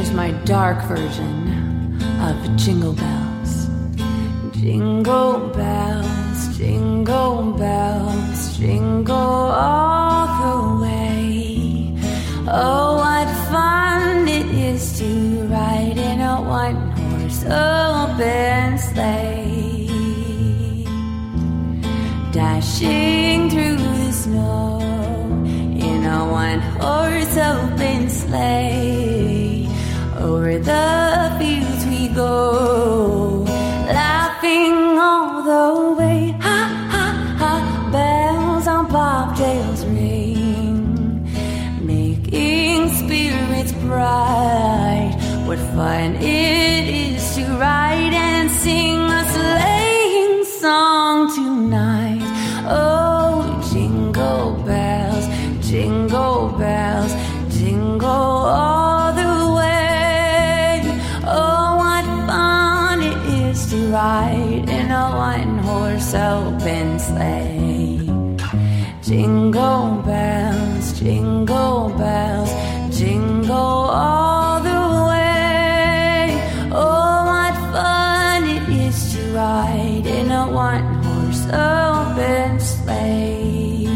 here's my dark version of Jingle Bells. Jingle bells, jingle bells, jingle all the way. Oh, what fun it is to ride in a one-horse open sleigh, dashing through the snow in a one-horse open sleigh. Over the fields we go, laughing all the way. Ha, ha, ha, bells on bobtails ring, making spirits bright. What fun it is to ride and sing a sleighing song tonight. Oh, jingle bells, jingle bells, jingle all the way. Oh, what fun it is to ride in a one-horse open sleigh. Jingle bells, jingle bells, jingle all the way. Oh, what fun it is to ride in a one-horse open sleigh.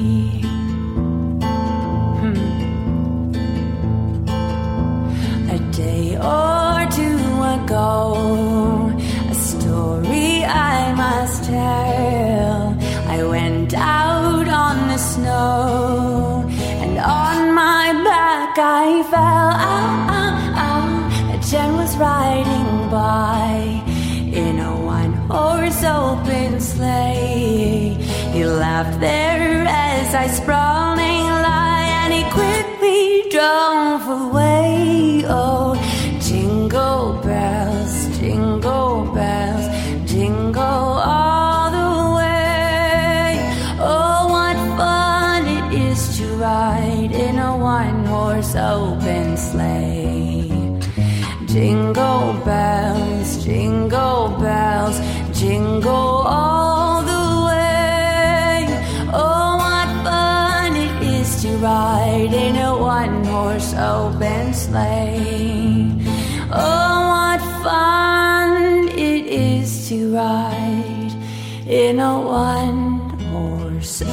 A day or two ago, a story I must tell. I went out on the snow, and on my back I fell. Ow, ow, ow. A gent was riding by in a one-horse open sleigh. He laughed there as I sprawling lie, and he quickly drove away. Oh, jingle bells, jingle bells, jingle all the way. Oh, what fun it is to ride in a one-horse open sleigh. Jingle bells, jingle bells, jingle all the way. Oh, what fun it is to ride in a one-horse open sleigh. Oh, what fun it is to ride in a one-horse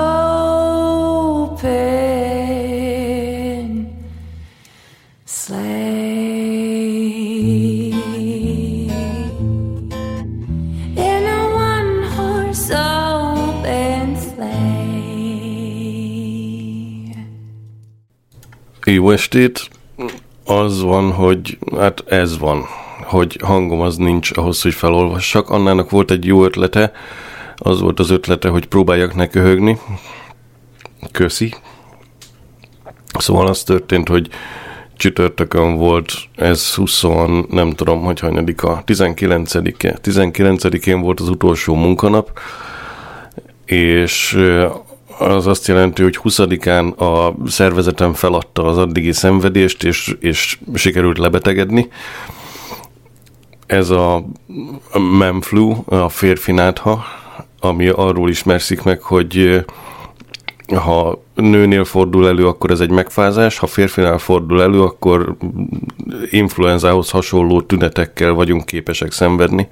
open sleigh. In a one-horse open sleigh. Jó estét! Az van, hogy hát ez van, hogy hangom az nincs ahhoz, hogy felolvassak. Annának volt egy jó ötlete, az volt az ötlete, hogy próbáljak ne köhögni. Köszi. Szóval az történt, hogy csütörtökön volt, ez 20, nem tudom, hogy hanyadika, 19-e. 19-én volt az utolsó munkanap, és az azt jelenti, hogy 20-án a szervezetem feladta az addigi szenvedést, és sikerült lebetegedni. Ez a menflu, a férfi nátha, ami arról ismerszik meg, hogy ha nőnél fordul elő, akkor ez egy megfázás, ha férfinál fordul elő, akkor influenzához hasonló tünetekkel vagyunk képesek szenvedni.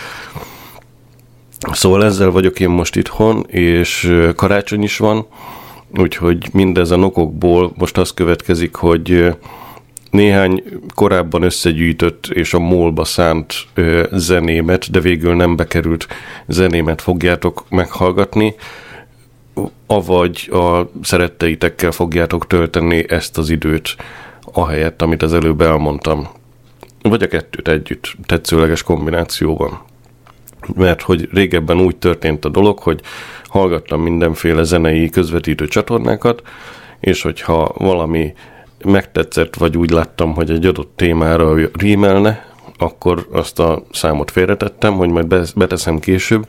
Szóval ezzel vagyok én most itthon, és karácsony is van, úgyhogy mindezen okokból most az következik, hogy néhány korábban összegyűjtött és a MOL-ba szánt zenémet, de végül nem bekerült zenémet fogjátok meghallgatni, avagy a szeretteitekkel fogjátok tölteni ezt az időt, ahelyett, amit az előbb elmondtam. Vagy a kettőt együtt, tetszőleges kombinációban. Mert hogy régebben úgy történt a dolog, hogy hallgattam mindenféle zenei közvetítő csatornákat, és hogyha valami megtetszett, vagy úgy láttam, hogy egy adott témára rímelne, akkor azt a számot félretettem, hogy majd beteszem később,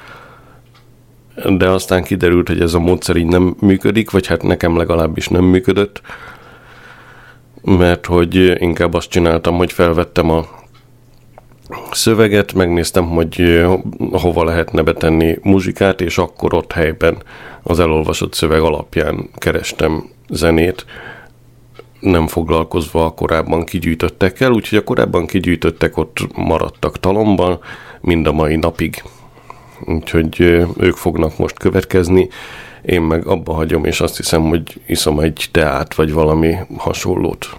de aztán kiderült, hogy ez a módszer így nem működik, vagy hát nekem legalábbis nem működött, mert hogy inkább azt csináltam, hogy felvettem a szöveget, megnéztem, hogy hova lehetne betenni muzsikát, és akkor ott helyben az elolvasott szöveg alapján kerestem zenét. nem foglalkozva a korábban kigyűjtöttekkel, úgyhogy a korábban kigyűjtöttek ott maradtak talomban mind a mai napig. Úgyhogy ők fognak most következni, én meg abba hagyom, és azt hiszem, hogy iszom egy teát, vagy valami hasonlót.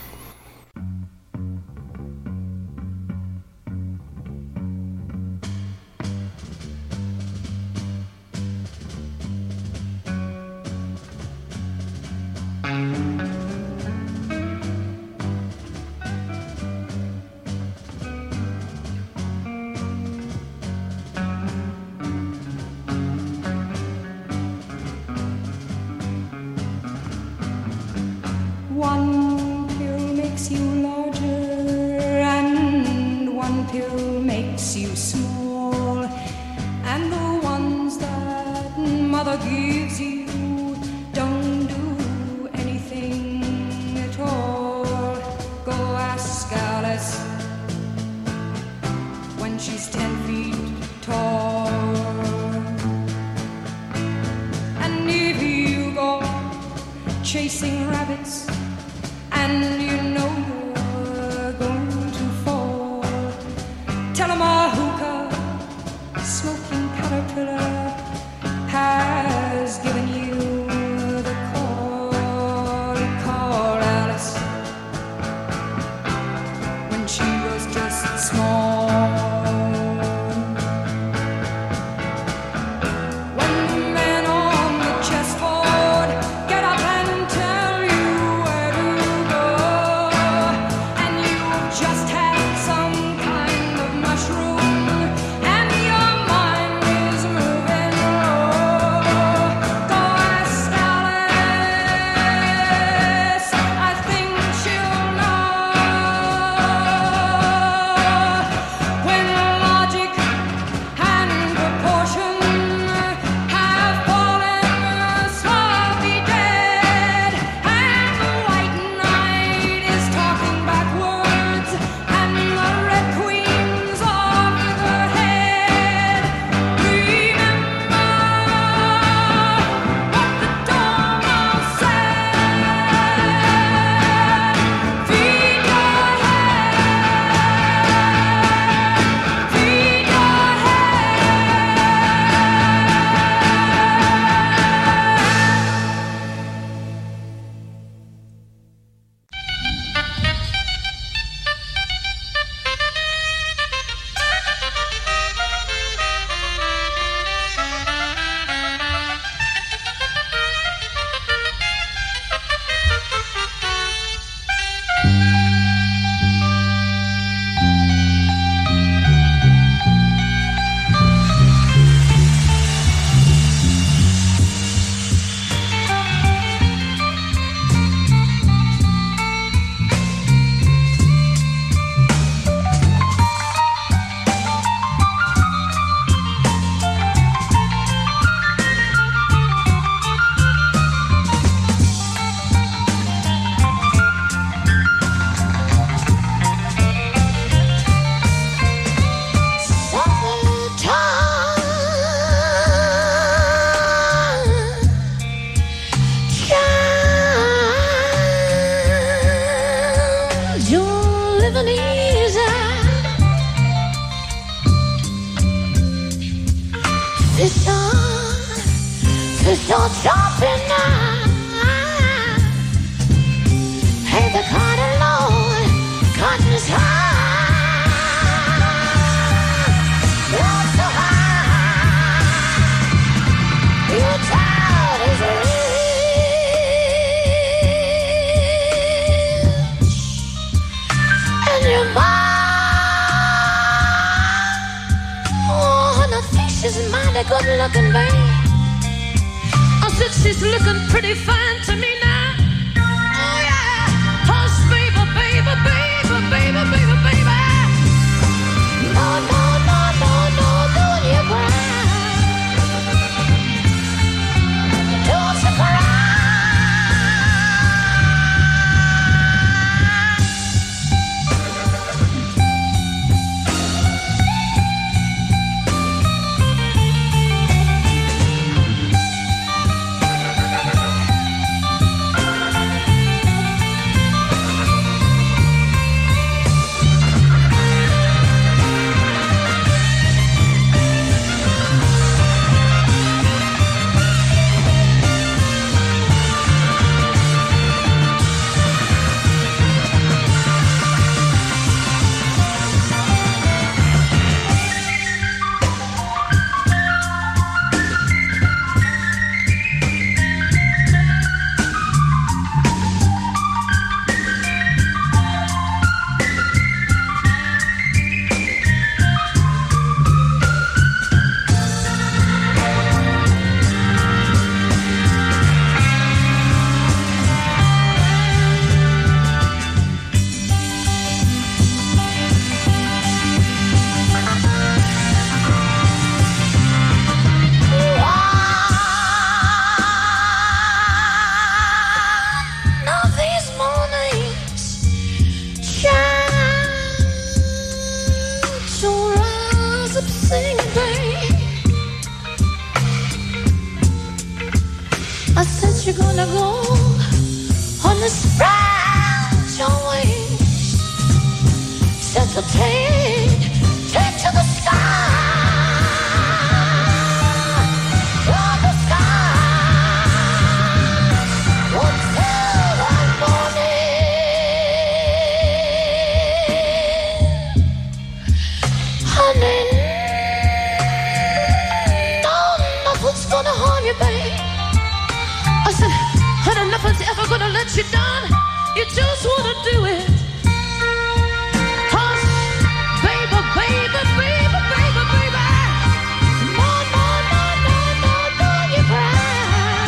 One pill makes you larger and one pill makes you small, and the ones that mother gives you don't do anything at all. Go ask Alice when she's 10 feet tall. And if you go chasing rabbits and you know you're going to fall, tell 'em a hookah smoking caterpillar has given you the call. Call Alice when she was just small. When the man on the chessboard get up and tell you where to go, and you've just had some kind of mushroom and your mind is moving low, go ask Alice, I think she'll know. When logic and proportion have fallen slowly dead, and the white knight is talking backwards, and the red queen's over the head, remember what the dormouse said. Feed your head, feed your you're living easy. Fish on jumping now. Hey, the cotton low, cotton is high. You're so high, your child is rich, and your mom, oh, and I think she's mighty good looking, babe. I said she's looking pretty fine to me now. Oh yeah, hush, baby, baby, baby, baby, baby, baby. No, no, no, no, no, don't you cry. Don't you cry. to go on the sprout your wings. Set the pain, take to the sky. Nothing's ever gonna let you down. You just wanna do it. 'Cause baby, baby, baby, baby, baby, more, more, more, more, more, more you cry.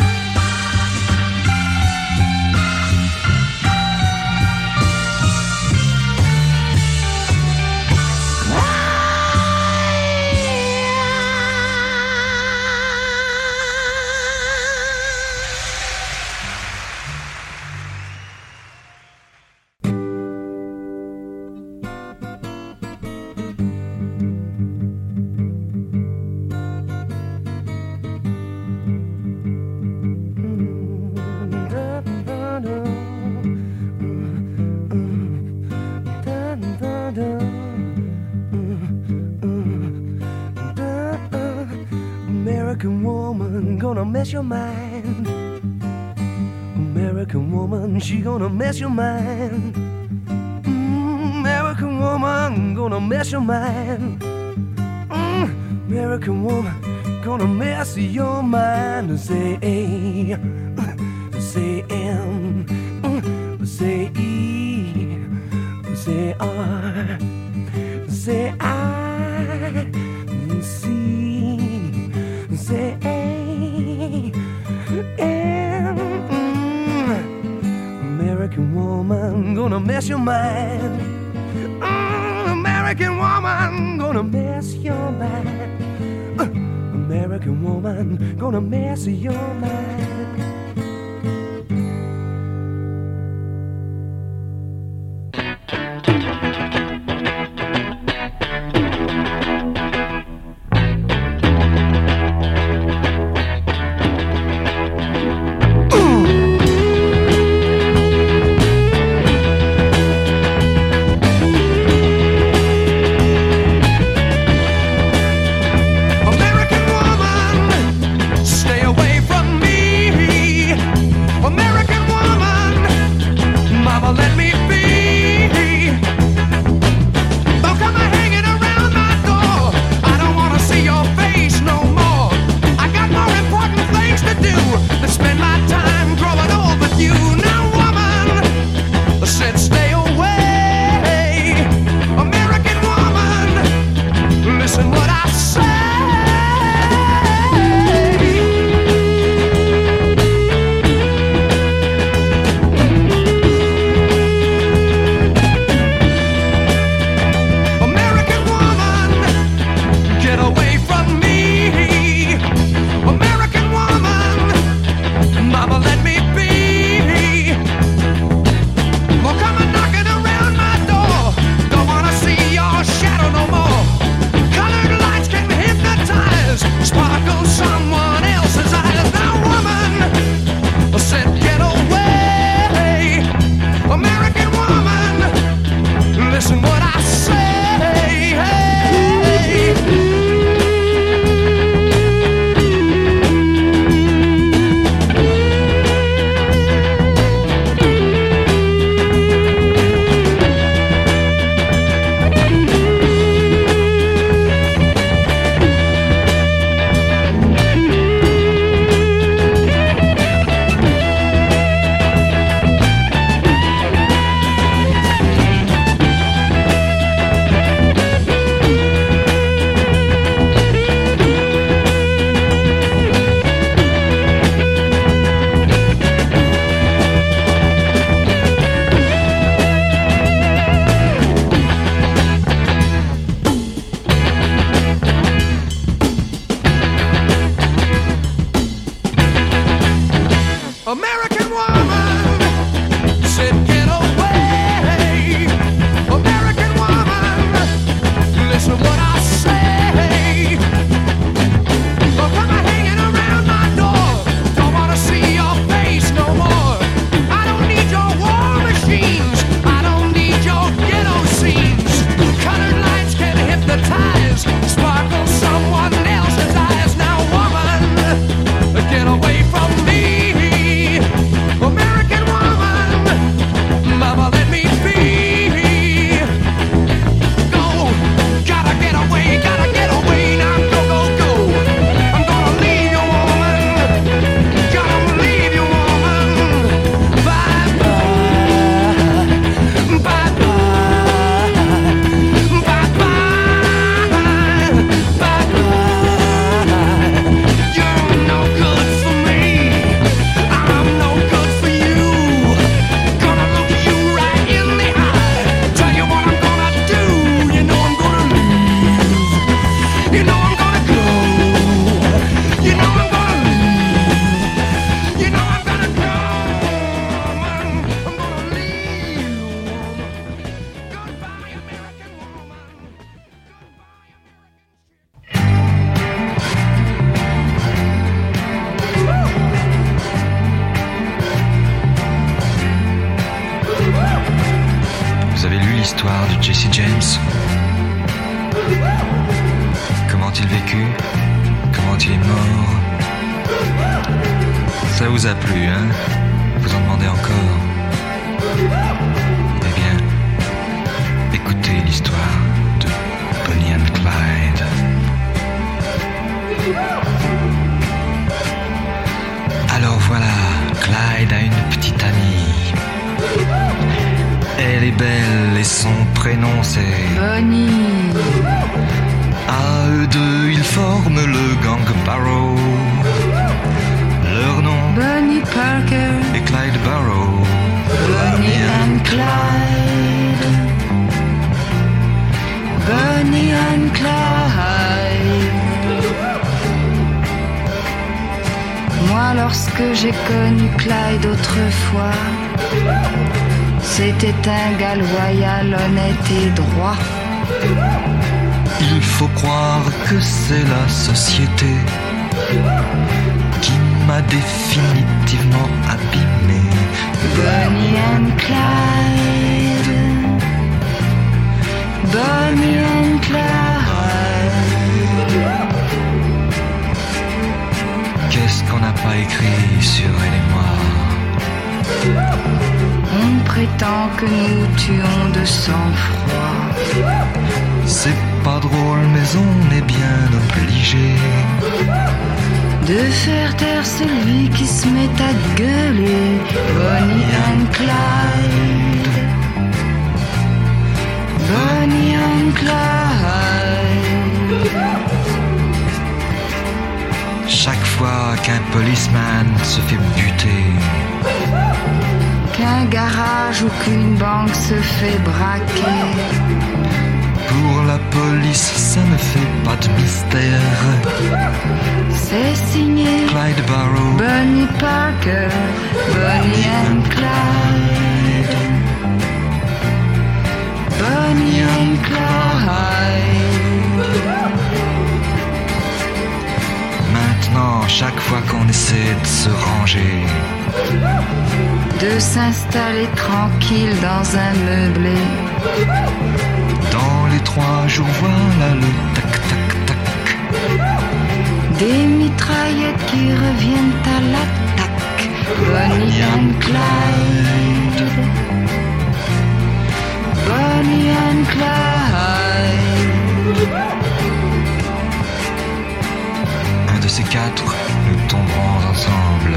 American woman gonna mess your mind. American woman, she gonna mess your mind. American woman gonna mess your mind. American woman gonna mess your mind. Say A, say M, say E, say R, say I, C, say A, M. American woman gonna mess your mind. American woman gonna mess your mind. American woman gonna mess your mind. American woman, stay away from me. lu l'histoire de Jesse James? Comment il vécut? Comment il est mort? Ça vous a plu, hein? Vous en demandez encore? Eh bien, écoutez l'histoire de Bonnie and Clyde. Alors voilà, Clyde a une petite amie. Elle est belle et son prénom c'est Bonnie. À eux deux, ils forment le gang Barrow. Leur nom Bonnie Parker et Clyde Barrow. Bonnie and Clyde. Bonnie and Clyde. Moi, lorsque j'ai connu Clyde autrefois, c'était un gars loyal, honnête et droit. Il faut croire que c'est la société qui m'a définitivement abîmé. Bonnie and Clyde. Bonnie and Clyde. Qu'est-ce qu'on n'a pas écrit sur elle et moi? On prétend que nous tuons de sang-froid. C'est pas drôle mais on est bien obligé de faire taire celui qui se met à gueuler. Bonnie and Clyde. Bonnie and Clyde. Chaque fois qu'un policeman se fait buter, qu'un garage ou qu'une banque se fait braquer, pour la police ça ne fait pas de mystère. c'est signé Clyde Barrow, Bonnie Parker, Bonnie and Clyde. Bonnie and Clyde. Maintenant, chaque fois qu'on essaie de se ranger, de s'installer tranquille dans un meublé, dans les 3 jours, voilà le tac-tac-tac. des mitraillettes qui reviennent à l'attaque. Bonnie and Clyde. Bonnie and Clyde. Un de ces 4, nous tomberons ensemble.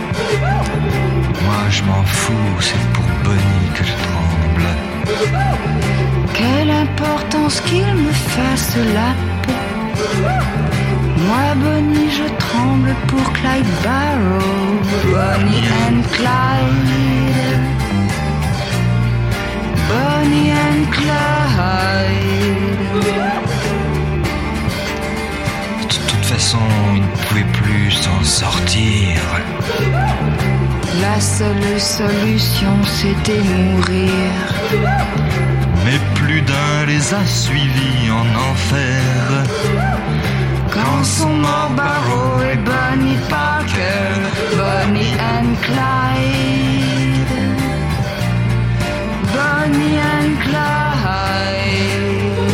Moi je m'en fous, c'est pour Bonnie que je tremble. Quelle importance qu'il me fasse la peau. Moi, Bonnie, je tremble pour Clyde Barrow. Bonnie and Clyde. Bonnie and Clyde. De toute façon, il ne pouvait plus s'en sortir. La seule solution, c'était mourir. Mais plus d'un les a suivis en enfer. Quand sont morts Barrow et Bonnie Parker, Bonnie and Clyde. Bonnie and Clyde.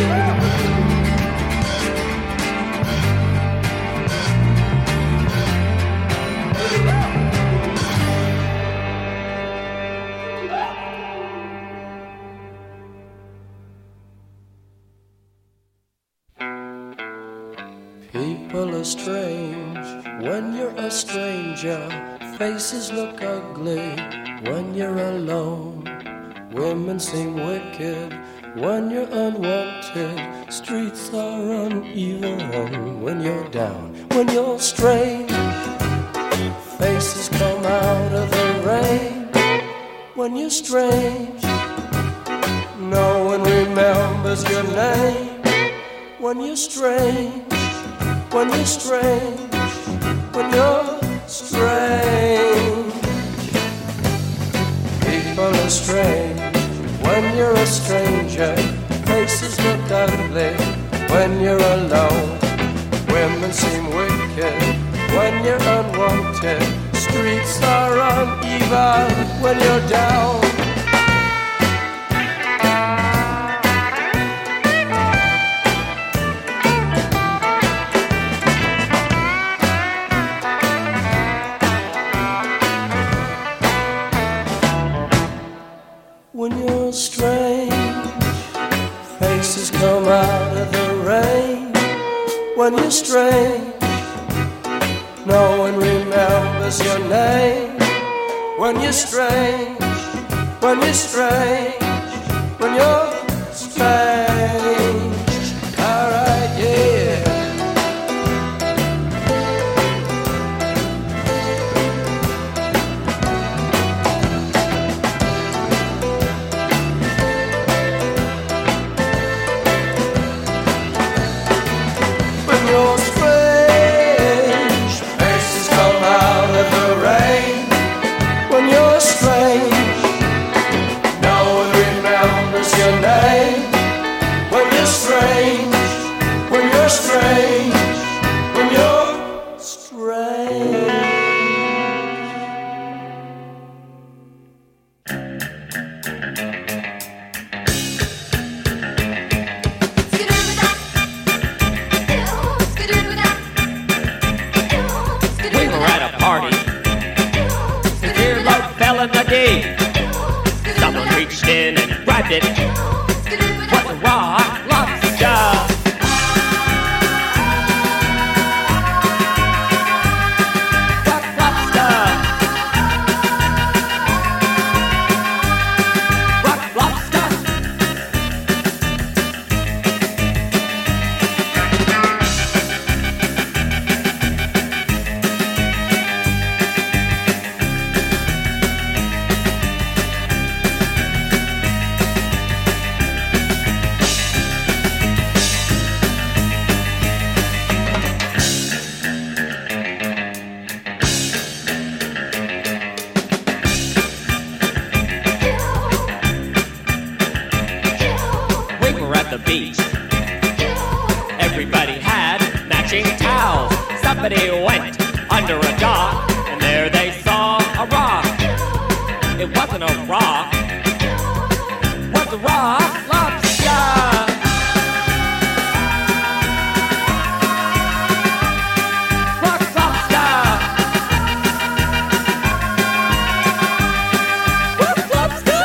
People are strange when you're a stranger. Faces look ugly when you're alone. Women seem wicked when you're unwanted. Streets are uneven when you're down. When you're strange, faces come out of the rain. When you're strange, no one remembers your name. When you're strange, when you're strange, when you're strange. People are strange when you're a stranger. Faces look ugly when you're alone. Women seem wicked when you're unwanted. Streets are uneven when you're down. when you're strange. Faces come out of the rain when you're strange. No one remembers your name when you're strange. When you're strange. When you're strange. Alright, yeah. When you're strange, faces come out of the rain. When you're strange, no one remembers your name. When you're strange, when you're strange, when you're strange. We were at a party. The dear love fell in the deep. Someone reached in and grabbed it. Was a raw lobster. Rock lobster. Rock lobster. We were at the beach. Everybody had matching towels. Somebody went under a dock, and there they saw a rock. It wasn't a rock. It was a rock lobster. Rock lobster. Rock lobster.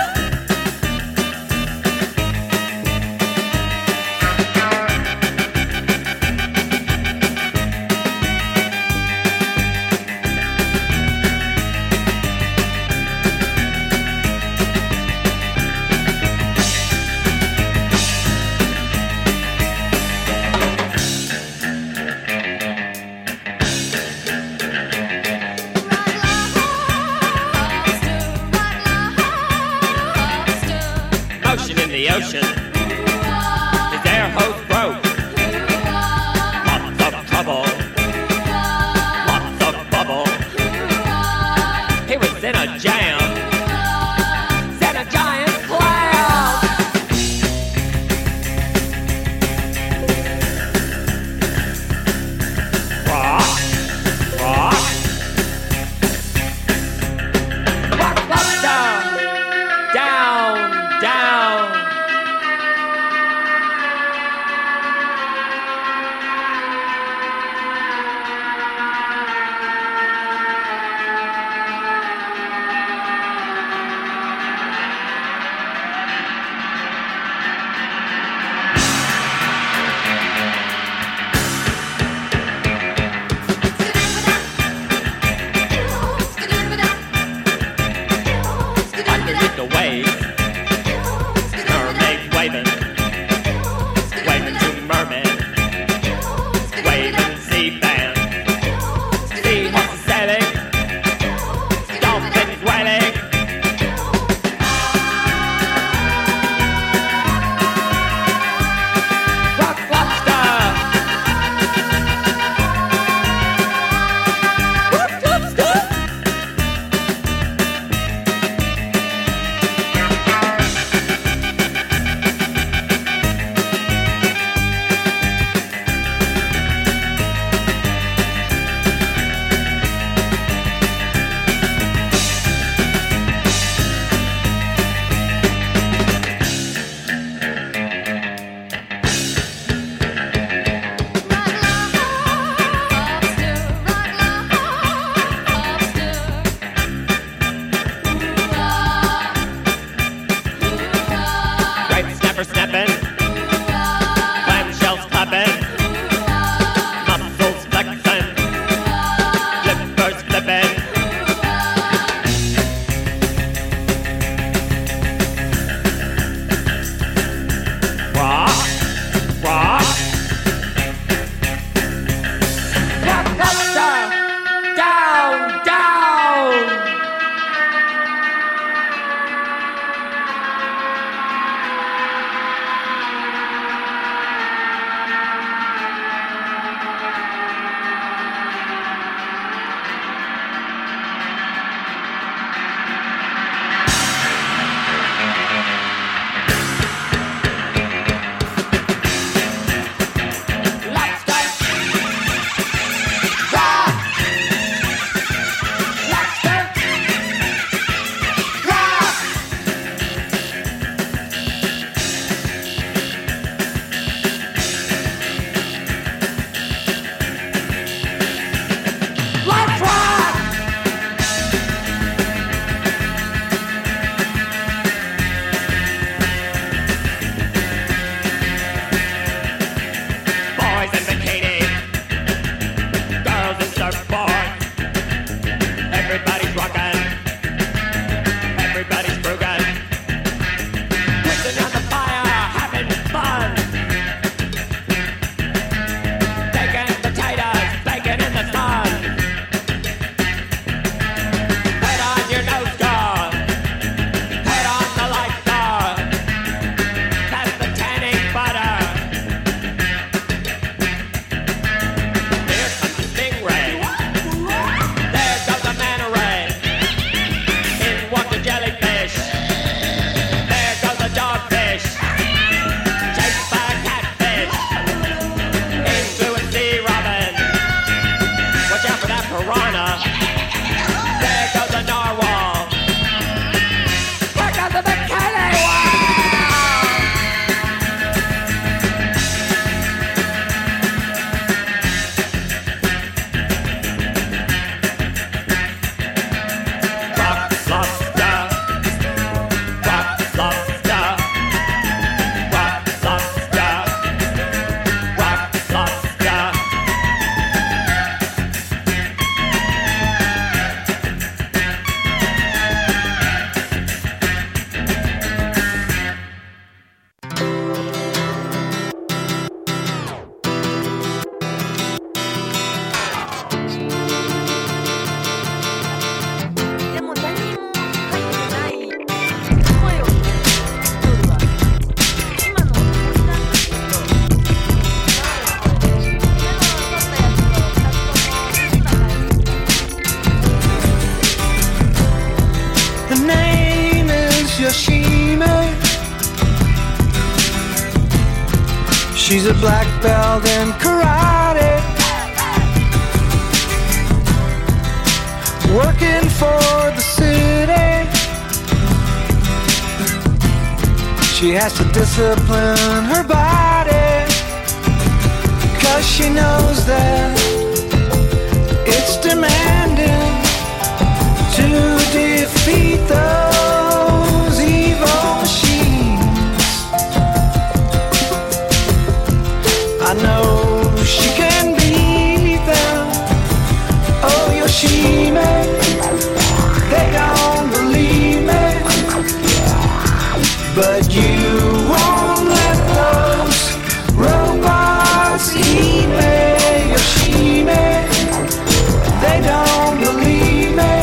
Motion in the ocean. His air hose broke. Lots of trouble. Lots of bubble. He was in a jam. Set a giant clam. Rock. Rock. Rock lobster. Down, down. She's a black belt in karate, working for the city. She has to discipline her body, 'cause she knows that it's demanding to defeat those evil machines. I know she can beat them. Oh, Yoshime, they don't believe me, but you won't let those robots eat me, Yoshime. They don't believe me,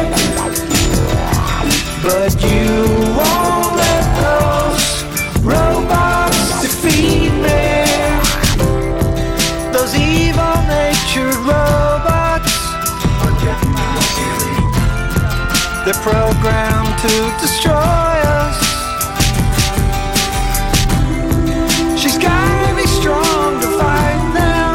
but you won't let those robots defeat me. Those evil-natured robots, they're programmed to destroy us. She's gotta be strong to fight them,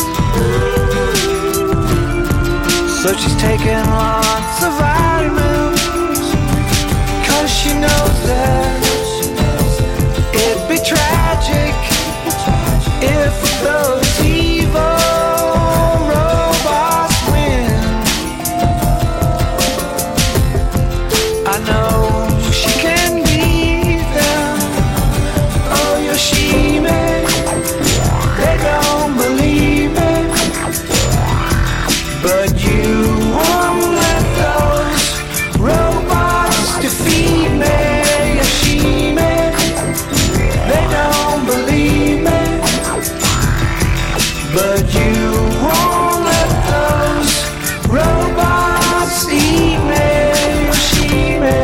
so she's taking lots of vitamins, 'cause she knows that it'd be tragic if those evil robots win. I know she can beat them. Oh, Yoshime, they don't believe me, but you won't let those robots defeat me, Yoshime. They don't believe me, but you won't let those robots eat me, Yoshime.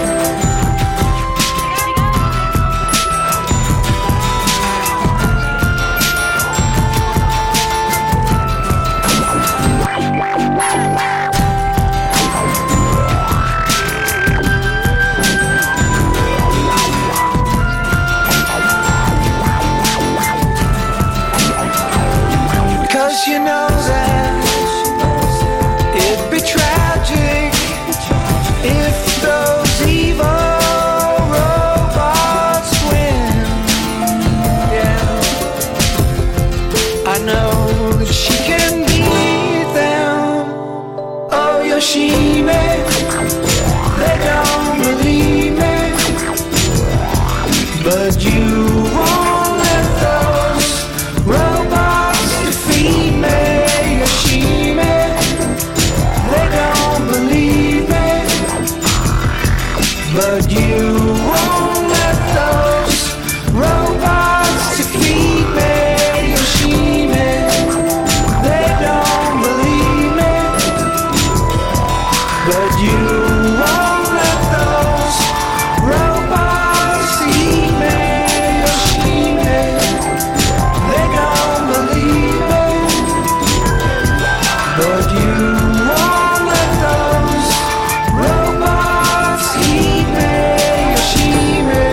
'Cause you know that it'd be tragic if those evil robots win. Yeah, I know that she can beat them. Oh, Yoshime, they don't believe me, but you won't let those robots defeat me, Yoshime. They don't believe me, but you won't let those robots defeat me, Yoshime. They don't believe me, but you won't let those robots eat me, Yoshime. They don't believe me, but you won't let those robots eat me, Yoshime.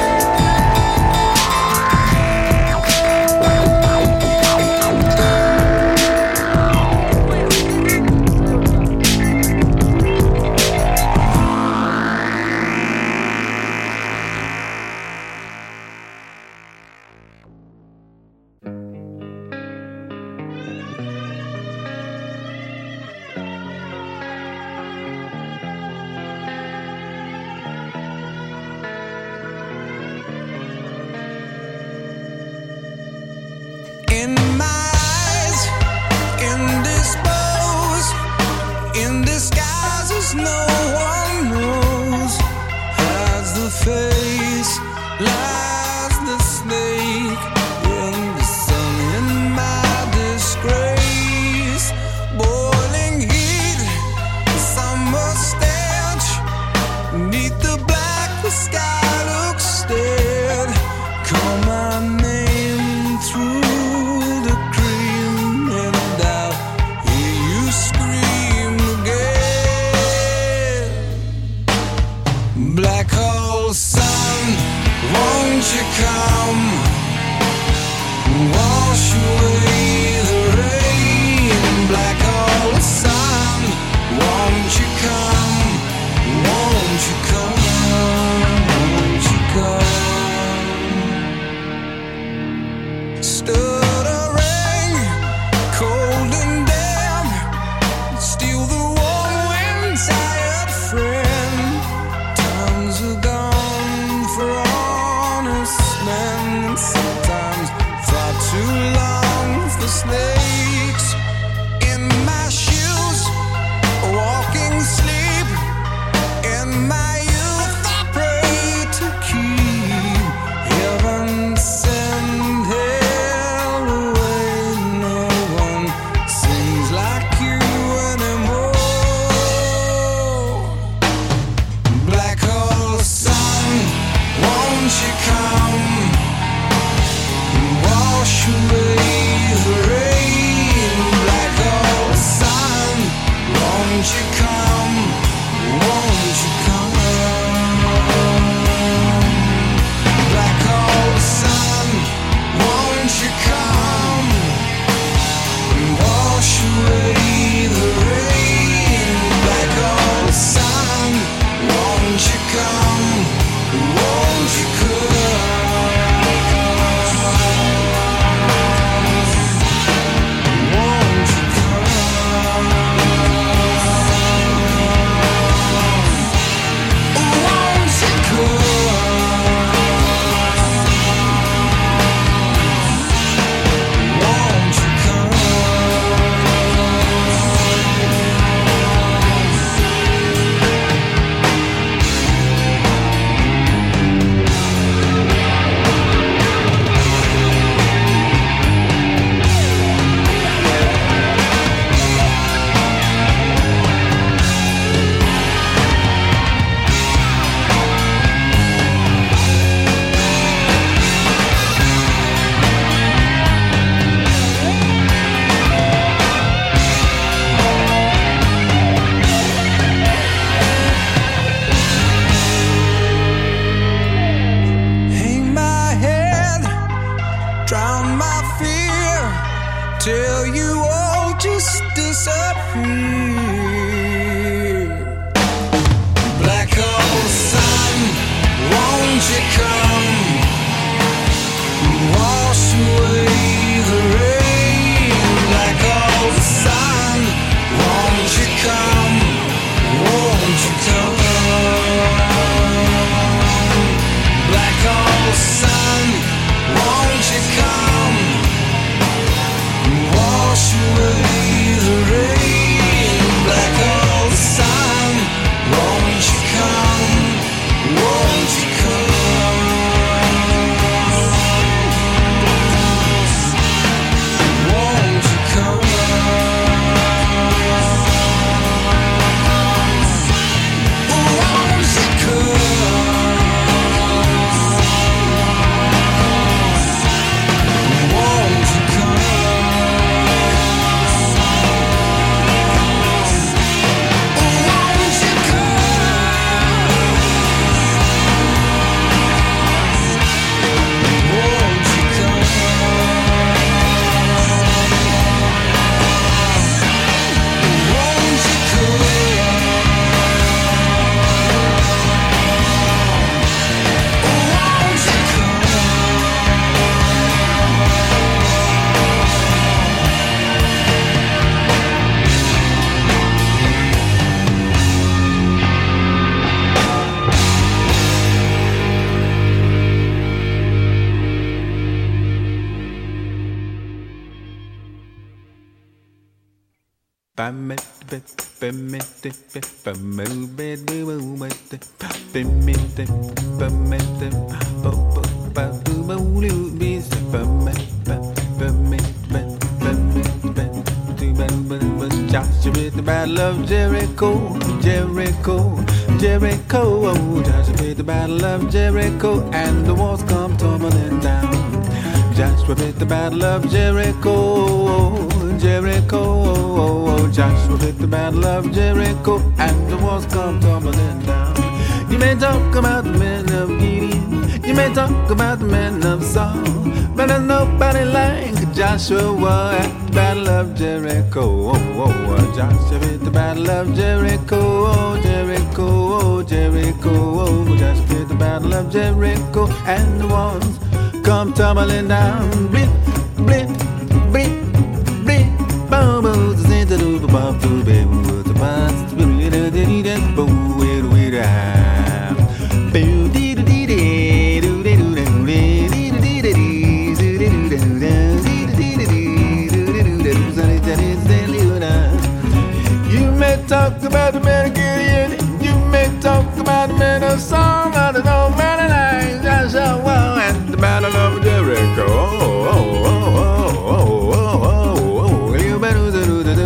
In my eyes, indisposed, in disguises no one knows. As the face lies the snake in the sun, in my disgrace. Boiling heat, summer stench, neath the black, the sky looks dead. Call my name through the cream, and I'll hear you scream again. Black hole sun, won't you come? Won't Joshua at the Battle of Jericho, Jericho, Jericho. Oh, Joshua at the Battle of Jericho, and the walls come tumbling down. Joshua at the Battle of Jericho, Jericho. Joshua at the Battle of Jericho, and the walls come tumbling down. You may talk about the men of Gideon, you may talk about the men of Saul, but there's nobody like Joshua at the Battle of Jericho. Joshua at the Battle of Jericho, Jericho, Jericho. Joshua at the Battle of Jericho, and the walls come tumbling down. Blip, blip, blip, blip. Boom, boom, the center of the bomb to be with the past. You may talk about the man of Gideon, you may talk about the man of Song, I don't know, man of life, Joshua at the Battle of Jericho. You better do the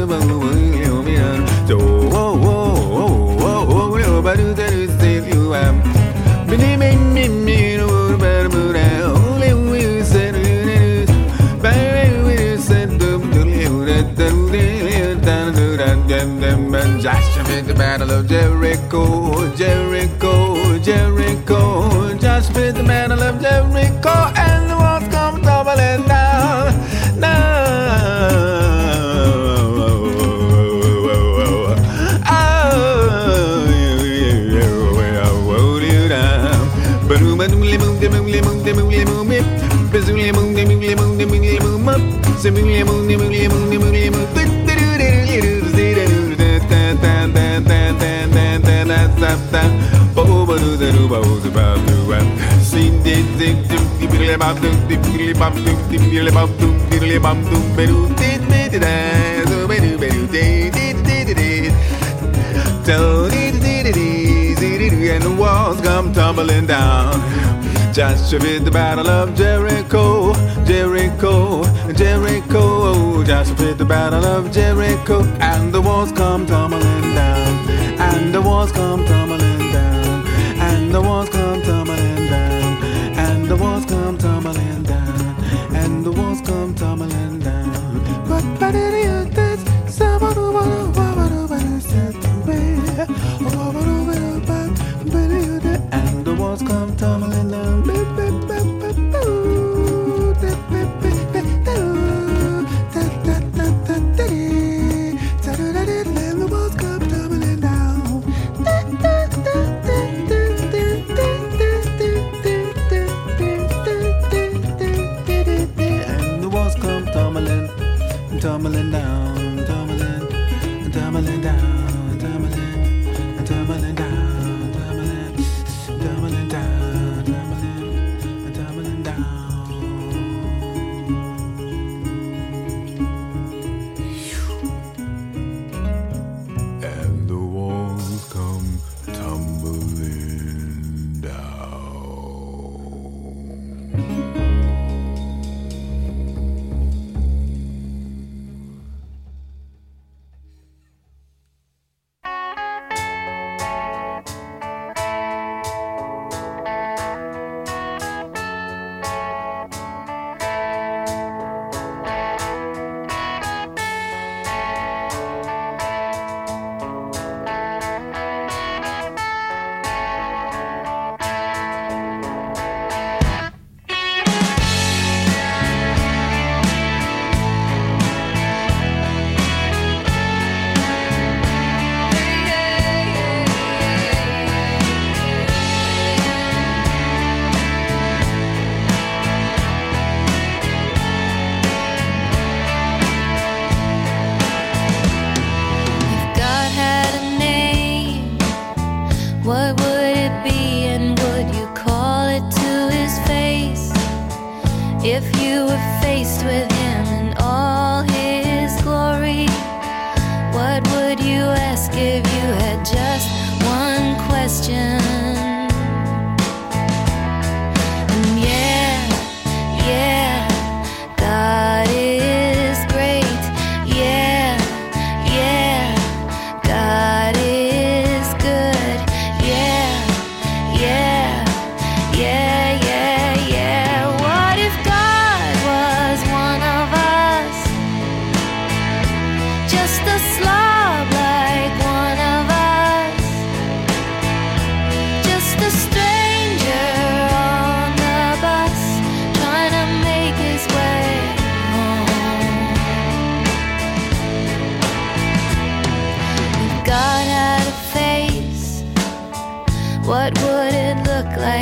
Joshua at the Battle of Jericho, Jericho, Jericho. Joshua at the Battle of Jericho, and the walls come tumbling down. And the walls come tumbling down. Joshua at the Battle of Jericho, Jericho, Jericho. Joshua at the Battle of Jericho, and the walls come tumbling down, and the walls come tumbling down, and the walls come tumbling down, and the walls come tumbling down, and the walls come tumbling down. But and the walls come tumbling down. And the walls come tumbling down. And the walls come tumbling, tumbling down, tumbling, tumbling down, tumbling, tumbling down. What would it be, and would you call it to his face? If you were faced with him in all his glory, what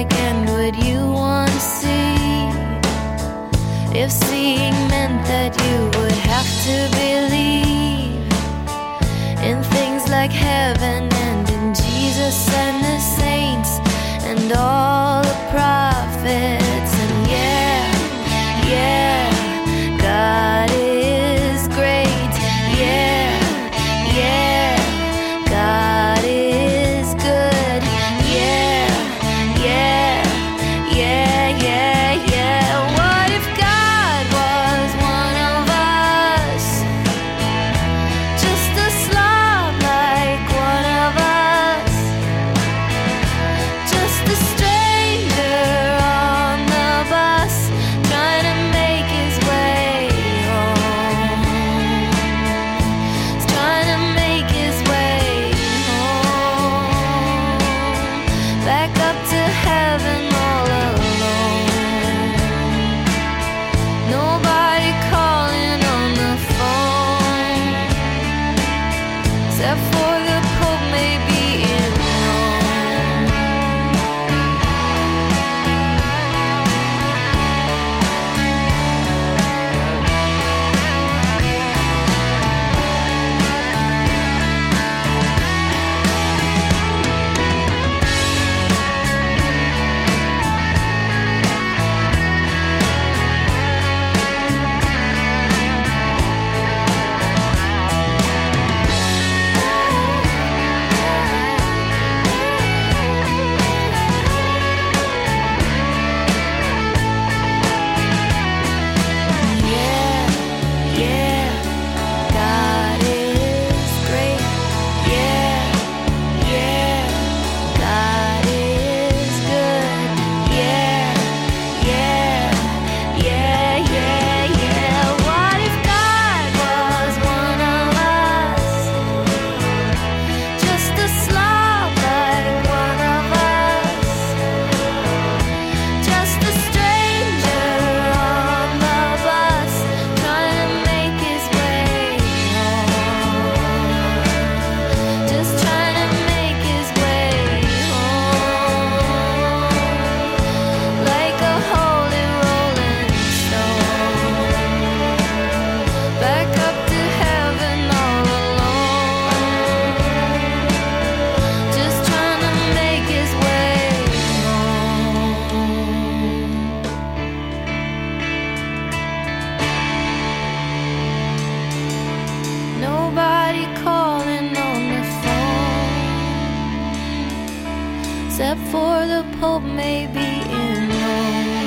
like, and would you want to see? If seeing meant that you would have to believe in things like heaven and in Jesus and the saints and all the prophets. And yeah, God is great. Yeah, God is good. Yeah. What if God was one of us? Just a slob like one of us. Just a stranger on the bus, trying to make his way home. He's trying to make his way home. Back up to heaven all alone. Nobody calling on the phone, except for the Pope maybe in Rome. Yeah, God is great. Yeah, God is good. Yeah. What if God was one of us? Just a slob like one of us. Just a stranger on the bus, trying to make his way home. Just trying to make his way home. Like a holy rolling stone. Back up to heaven all alone. Just trying to make his way home. Nobody calling on the phone, except for the Pope maybe in Rome.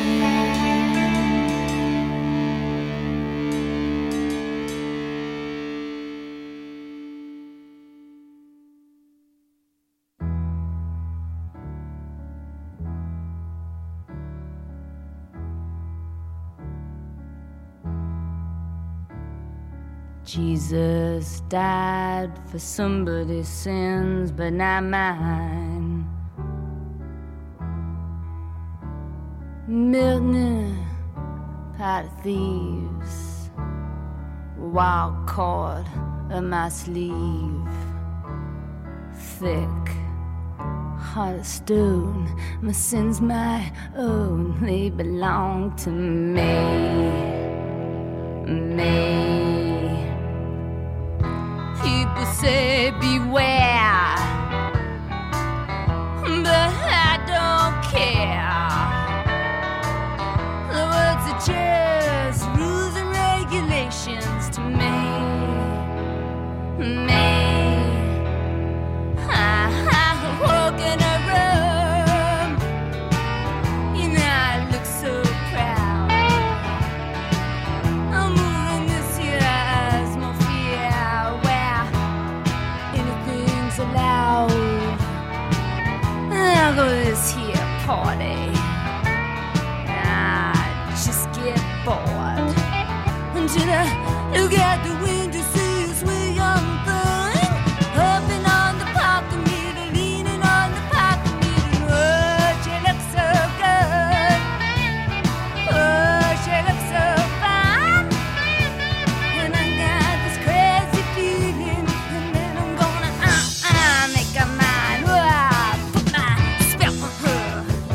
Jesus died for somebody's sins, but not mine. Milton, pot of thieves, wild cord of my sleeve, thick heart of stone. My sins my own, they belong to me. People say beware, but I don't care. The words are just rules and regulations to me. I walk in a room, you know I look so proud. I'm moving this year as my fear, where anything's allowed. I'll go to this here party, I just get bored until I look out the window, see a sweet young thing hopping on the parking meter, leaning on the parking meter. Oh, she looks so good. Oh, she looks so fine. And I got this crazy feeling, and then I'm gonna make her mine. Oh, I put my spell on her.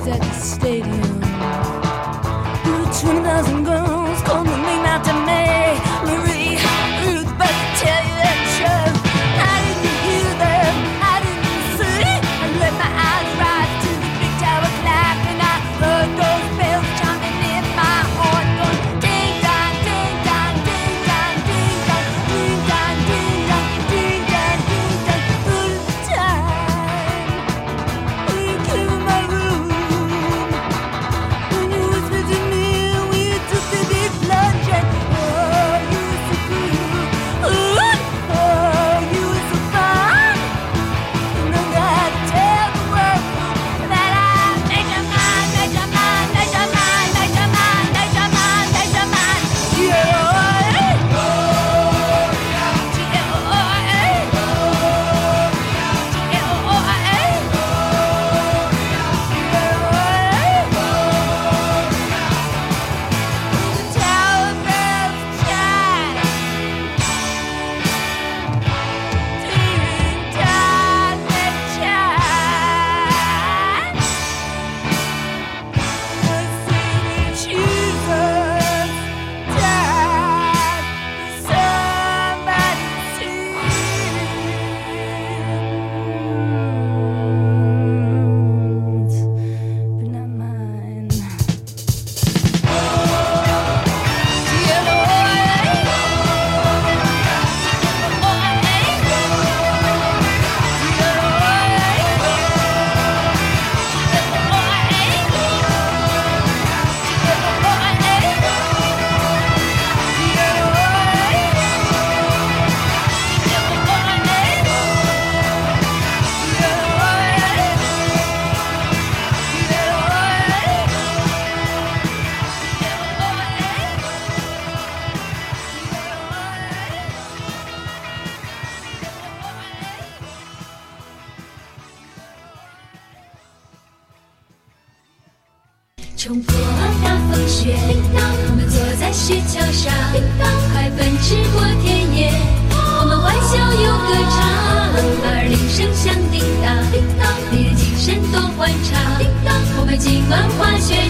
was at the stadium. 20,000 girls come running out to me. Marie, Ruth, but to tell you the truth, I didn't hear them, I didn't see. I let my eyes rise to the big tower clock, and I heard those bells chiming in my heart, going ding dong, ding dong, ding dong, ding dong, ding dong, ding dong, ding dong, ding dong, all the time. When you came in my room, when you whispered to me, when you took the big plunge, and oh, you were so cool, oh, you were so fun. And I gotta tell the world that I made your mind, made your mind, made your mind, made your mind, made your mind, made your mind. G-O-R-A. G-O-R-A. G-O-R-A. The tower bells chime. Ding dong, they chime. I see Jesus died for somebody's sins, but not mine. 冲破大风雪，我们坐在雪橇上，快奔驰过田野。我们欢笑又歌唱，耳铃声响叮当，你的精神多欢畅。我们今晚滑雪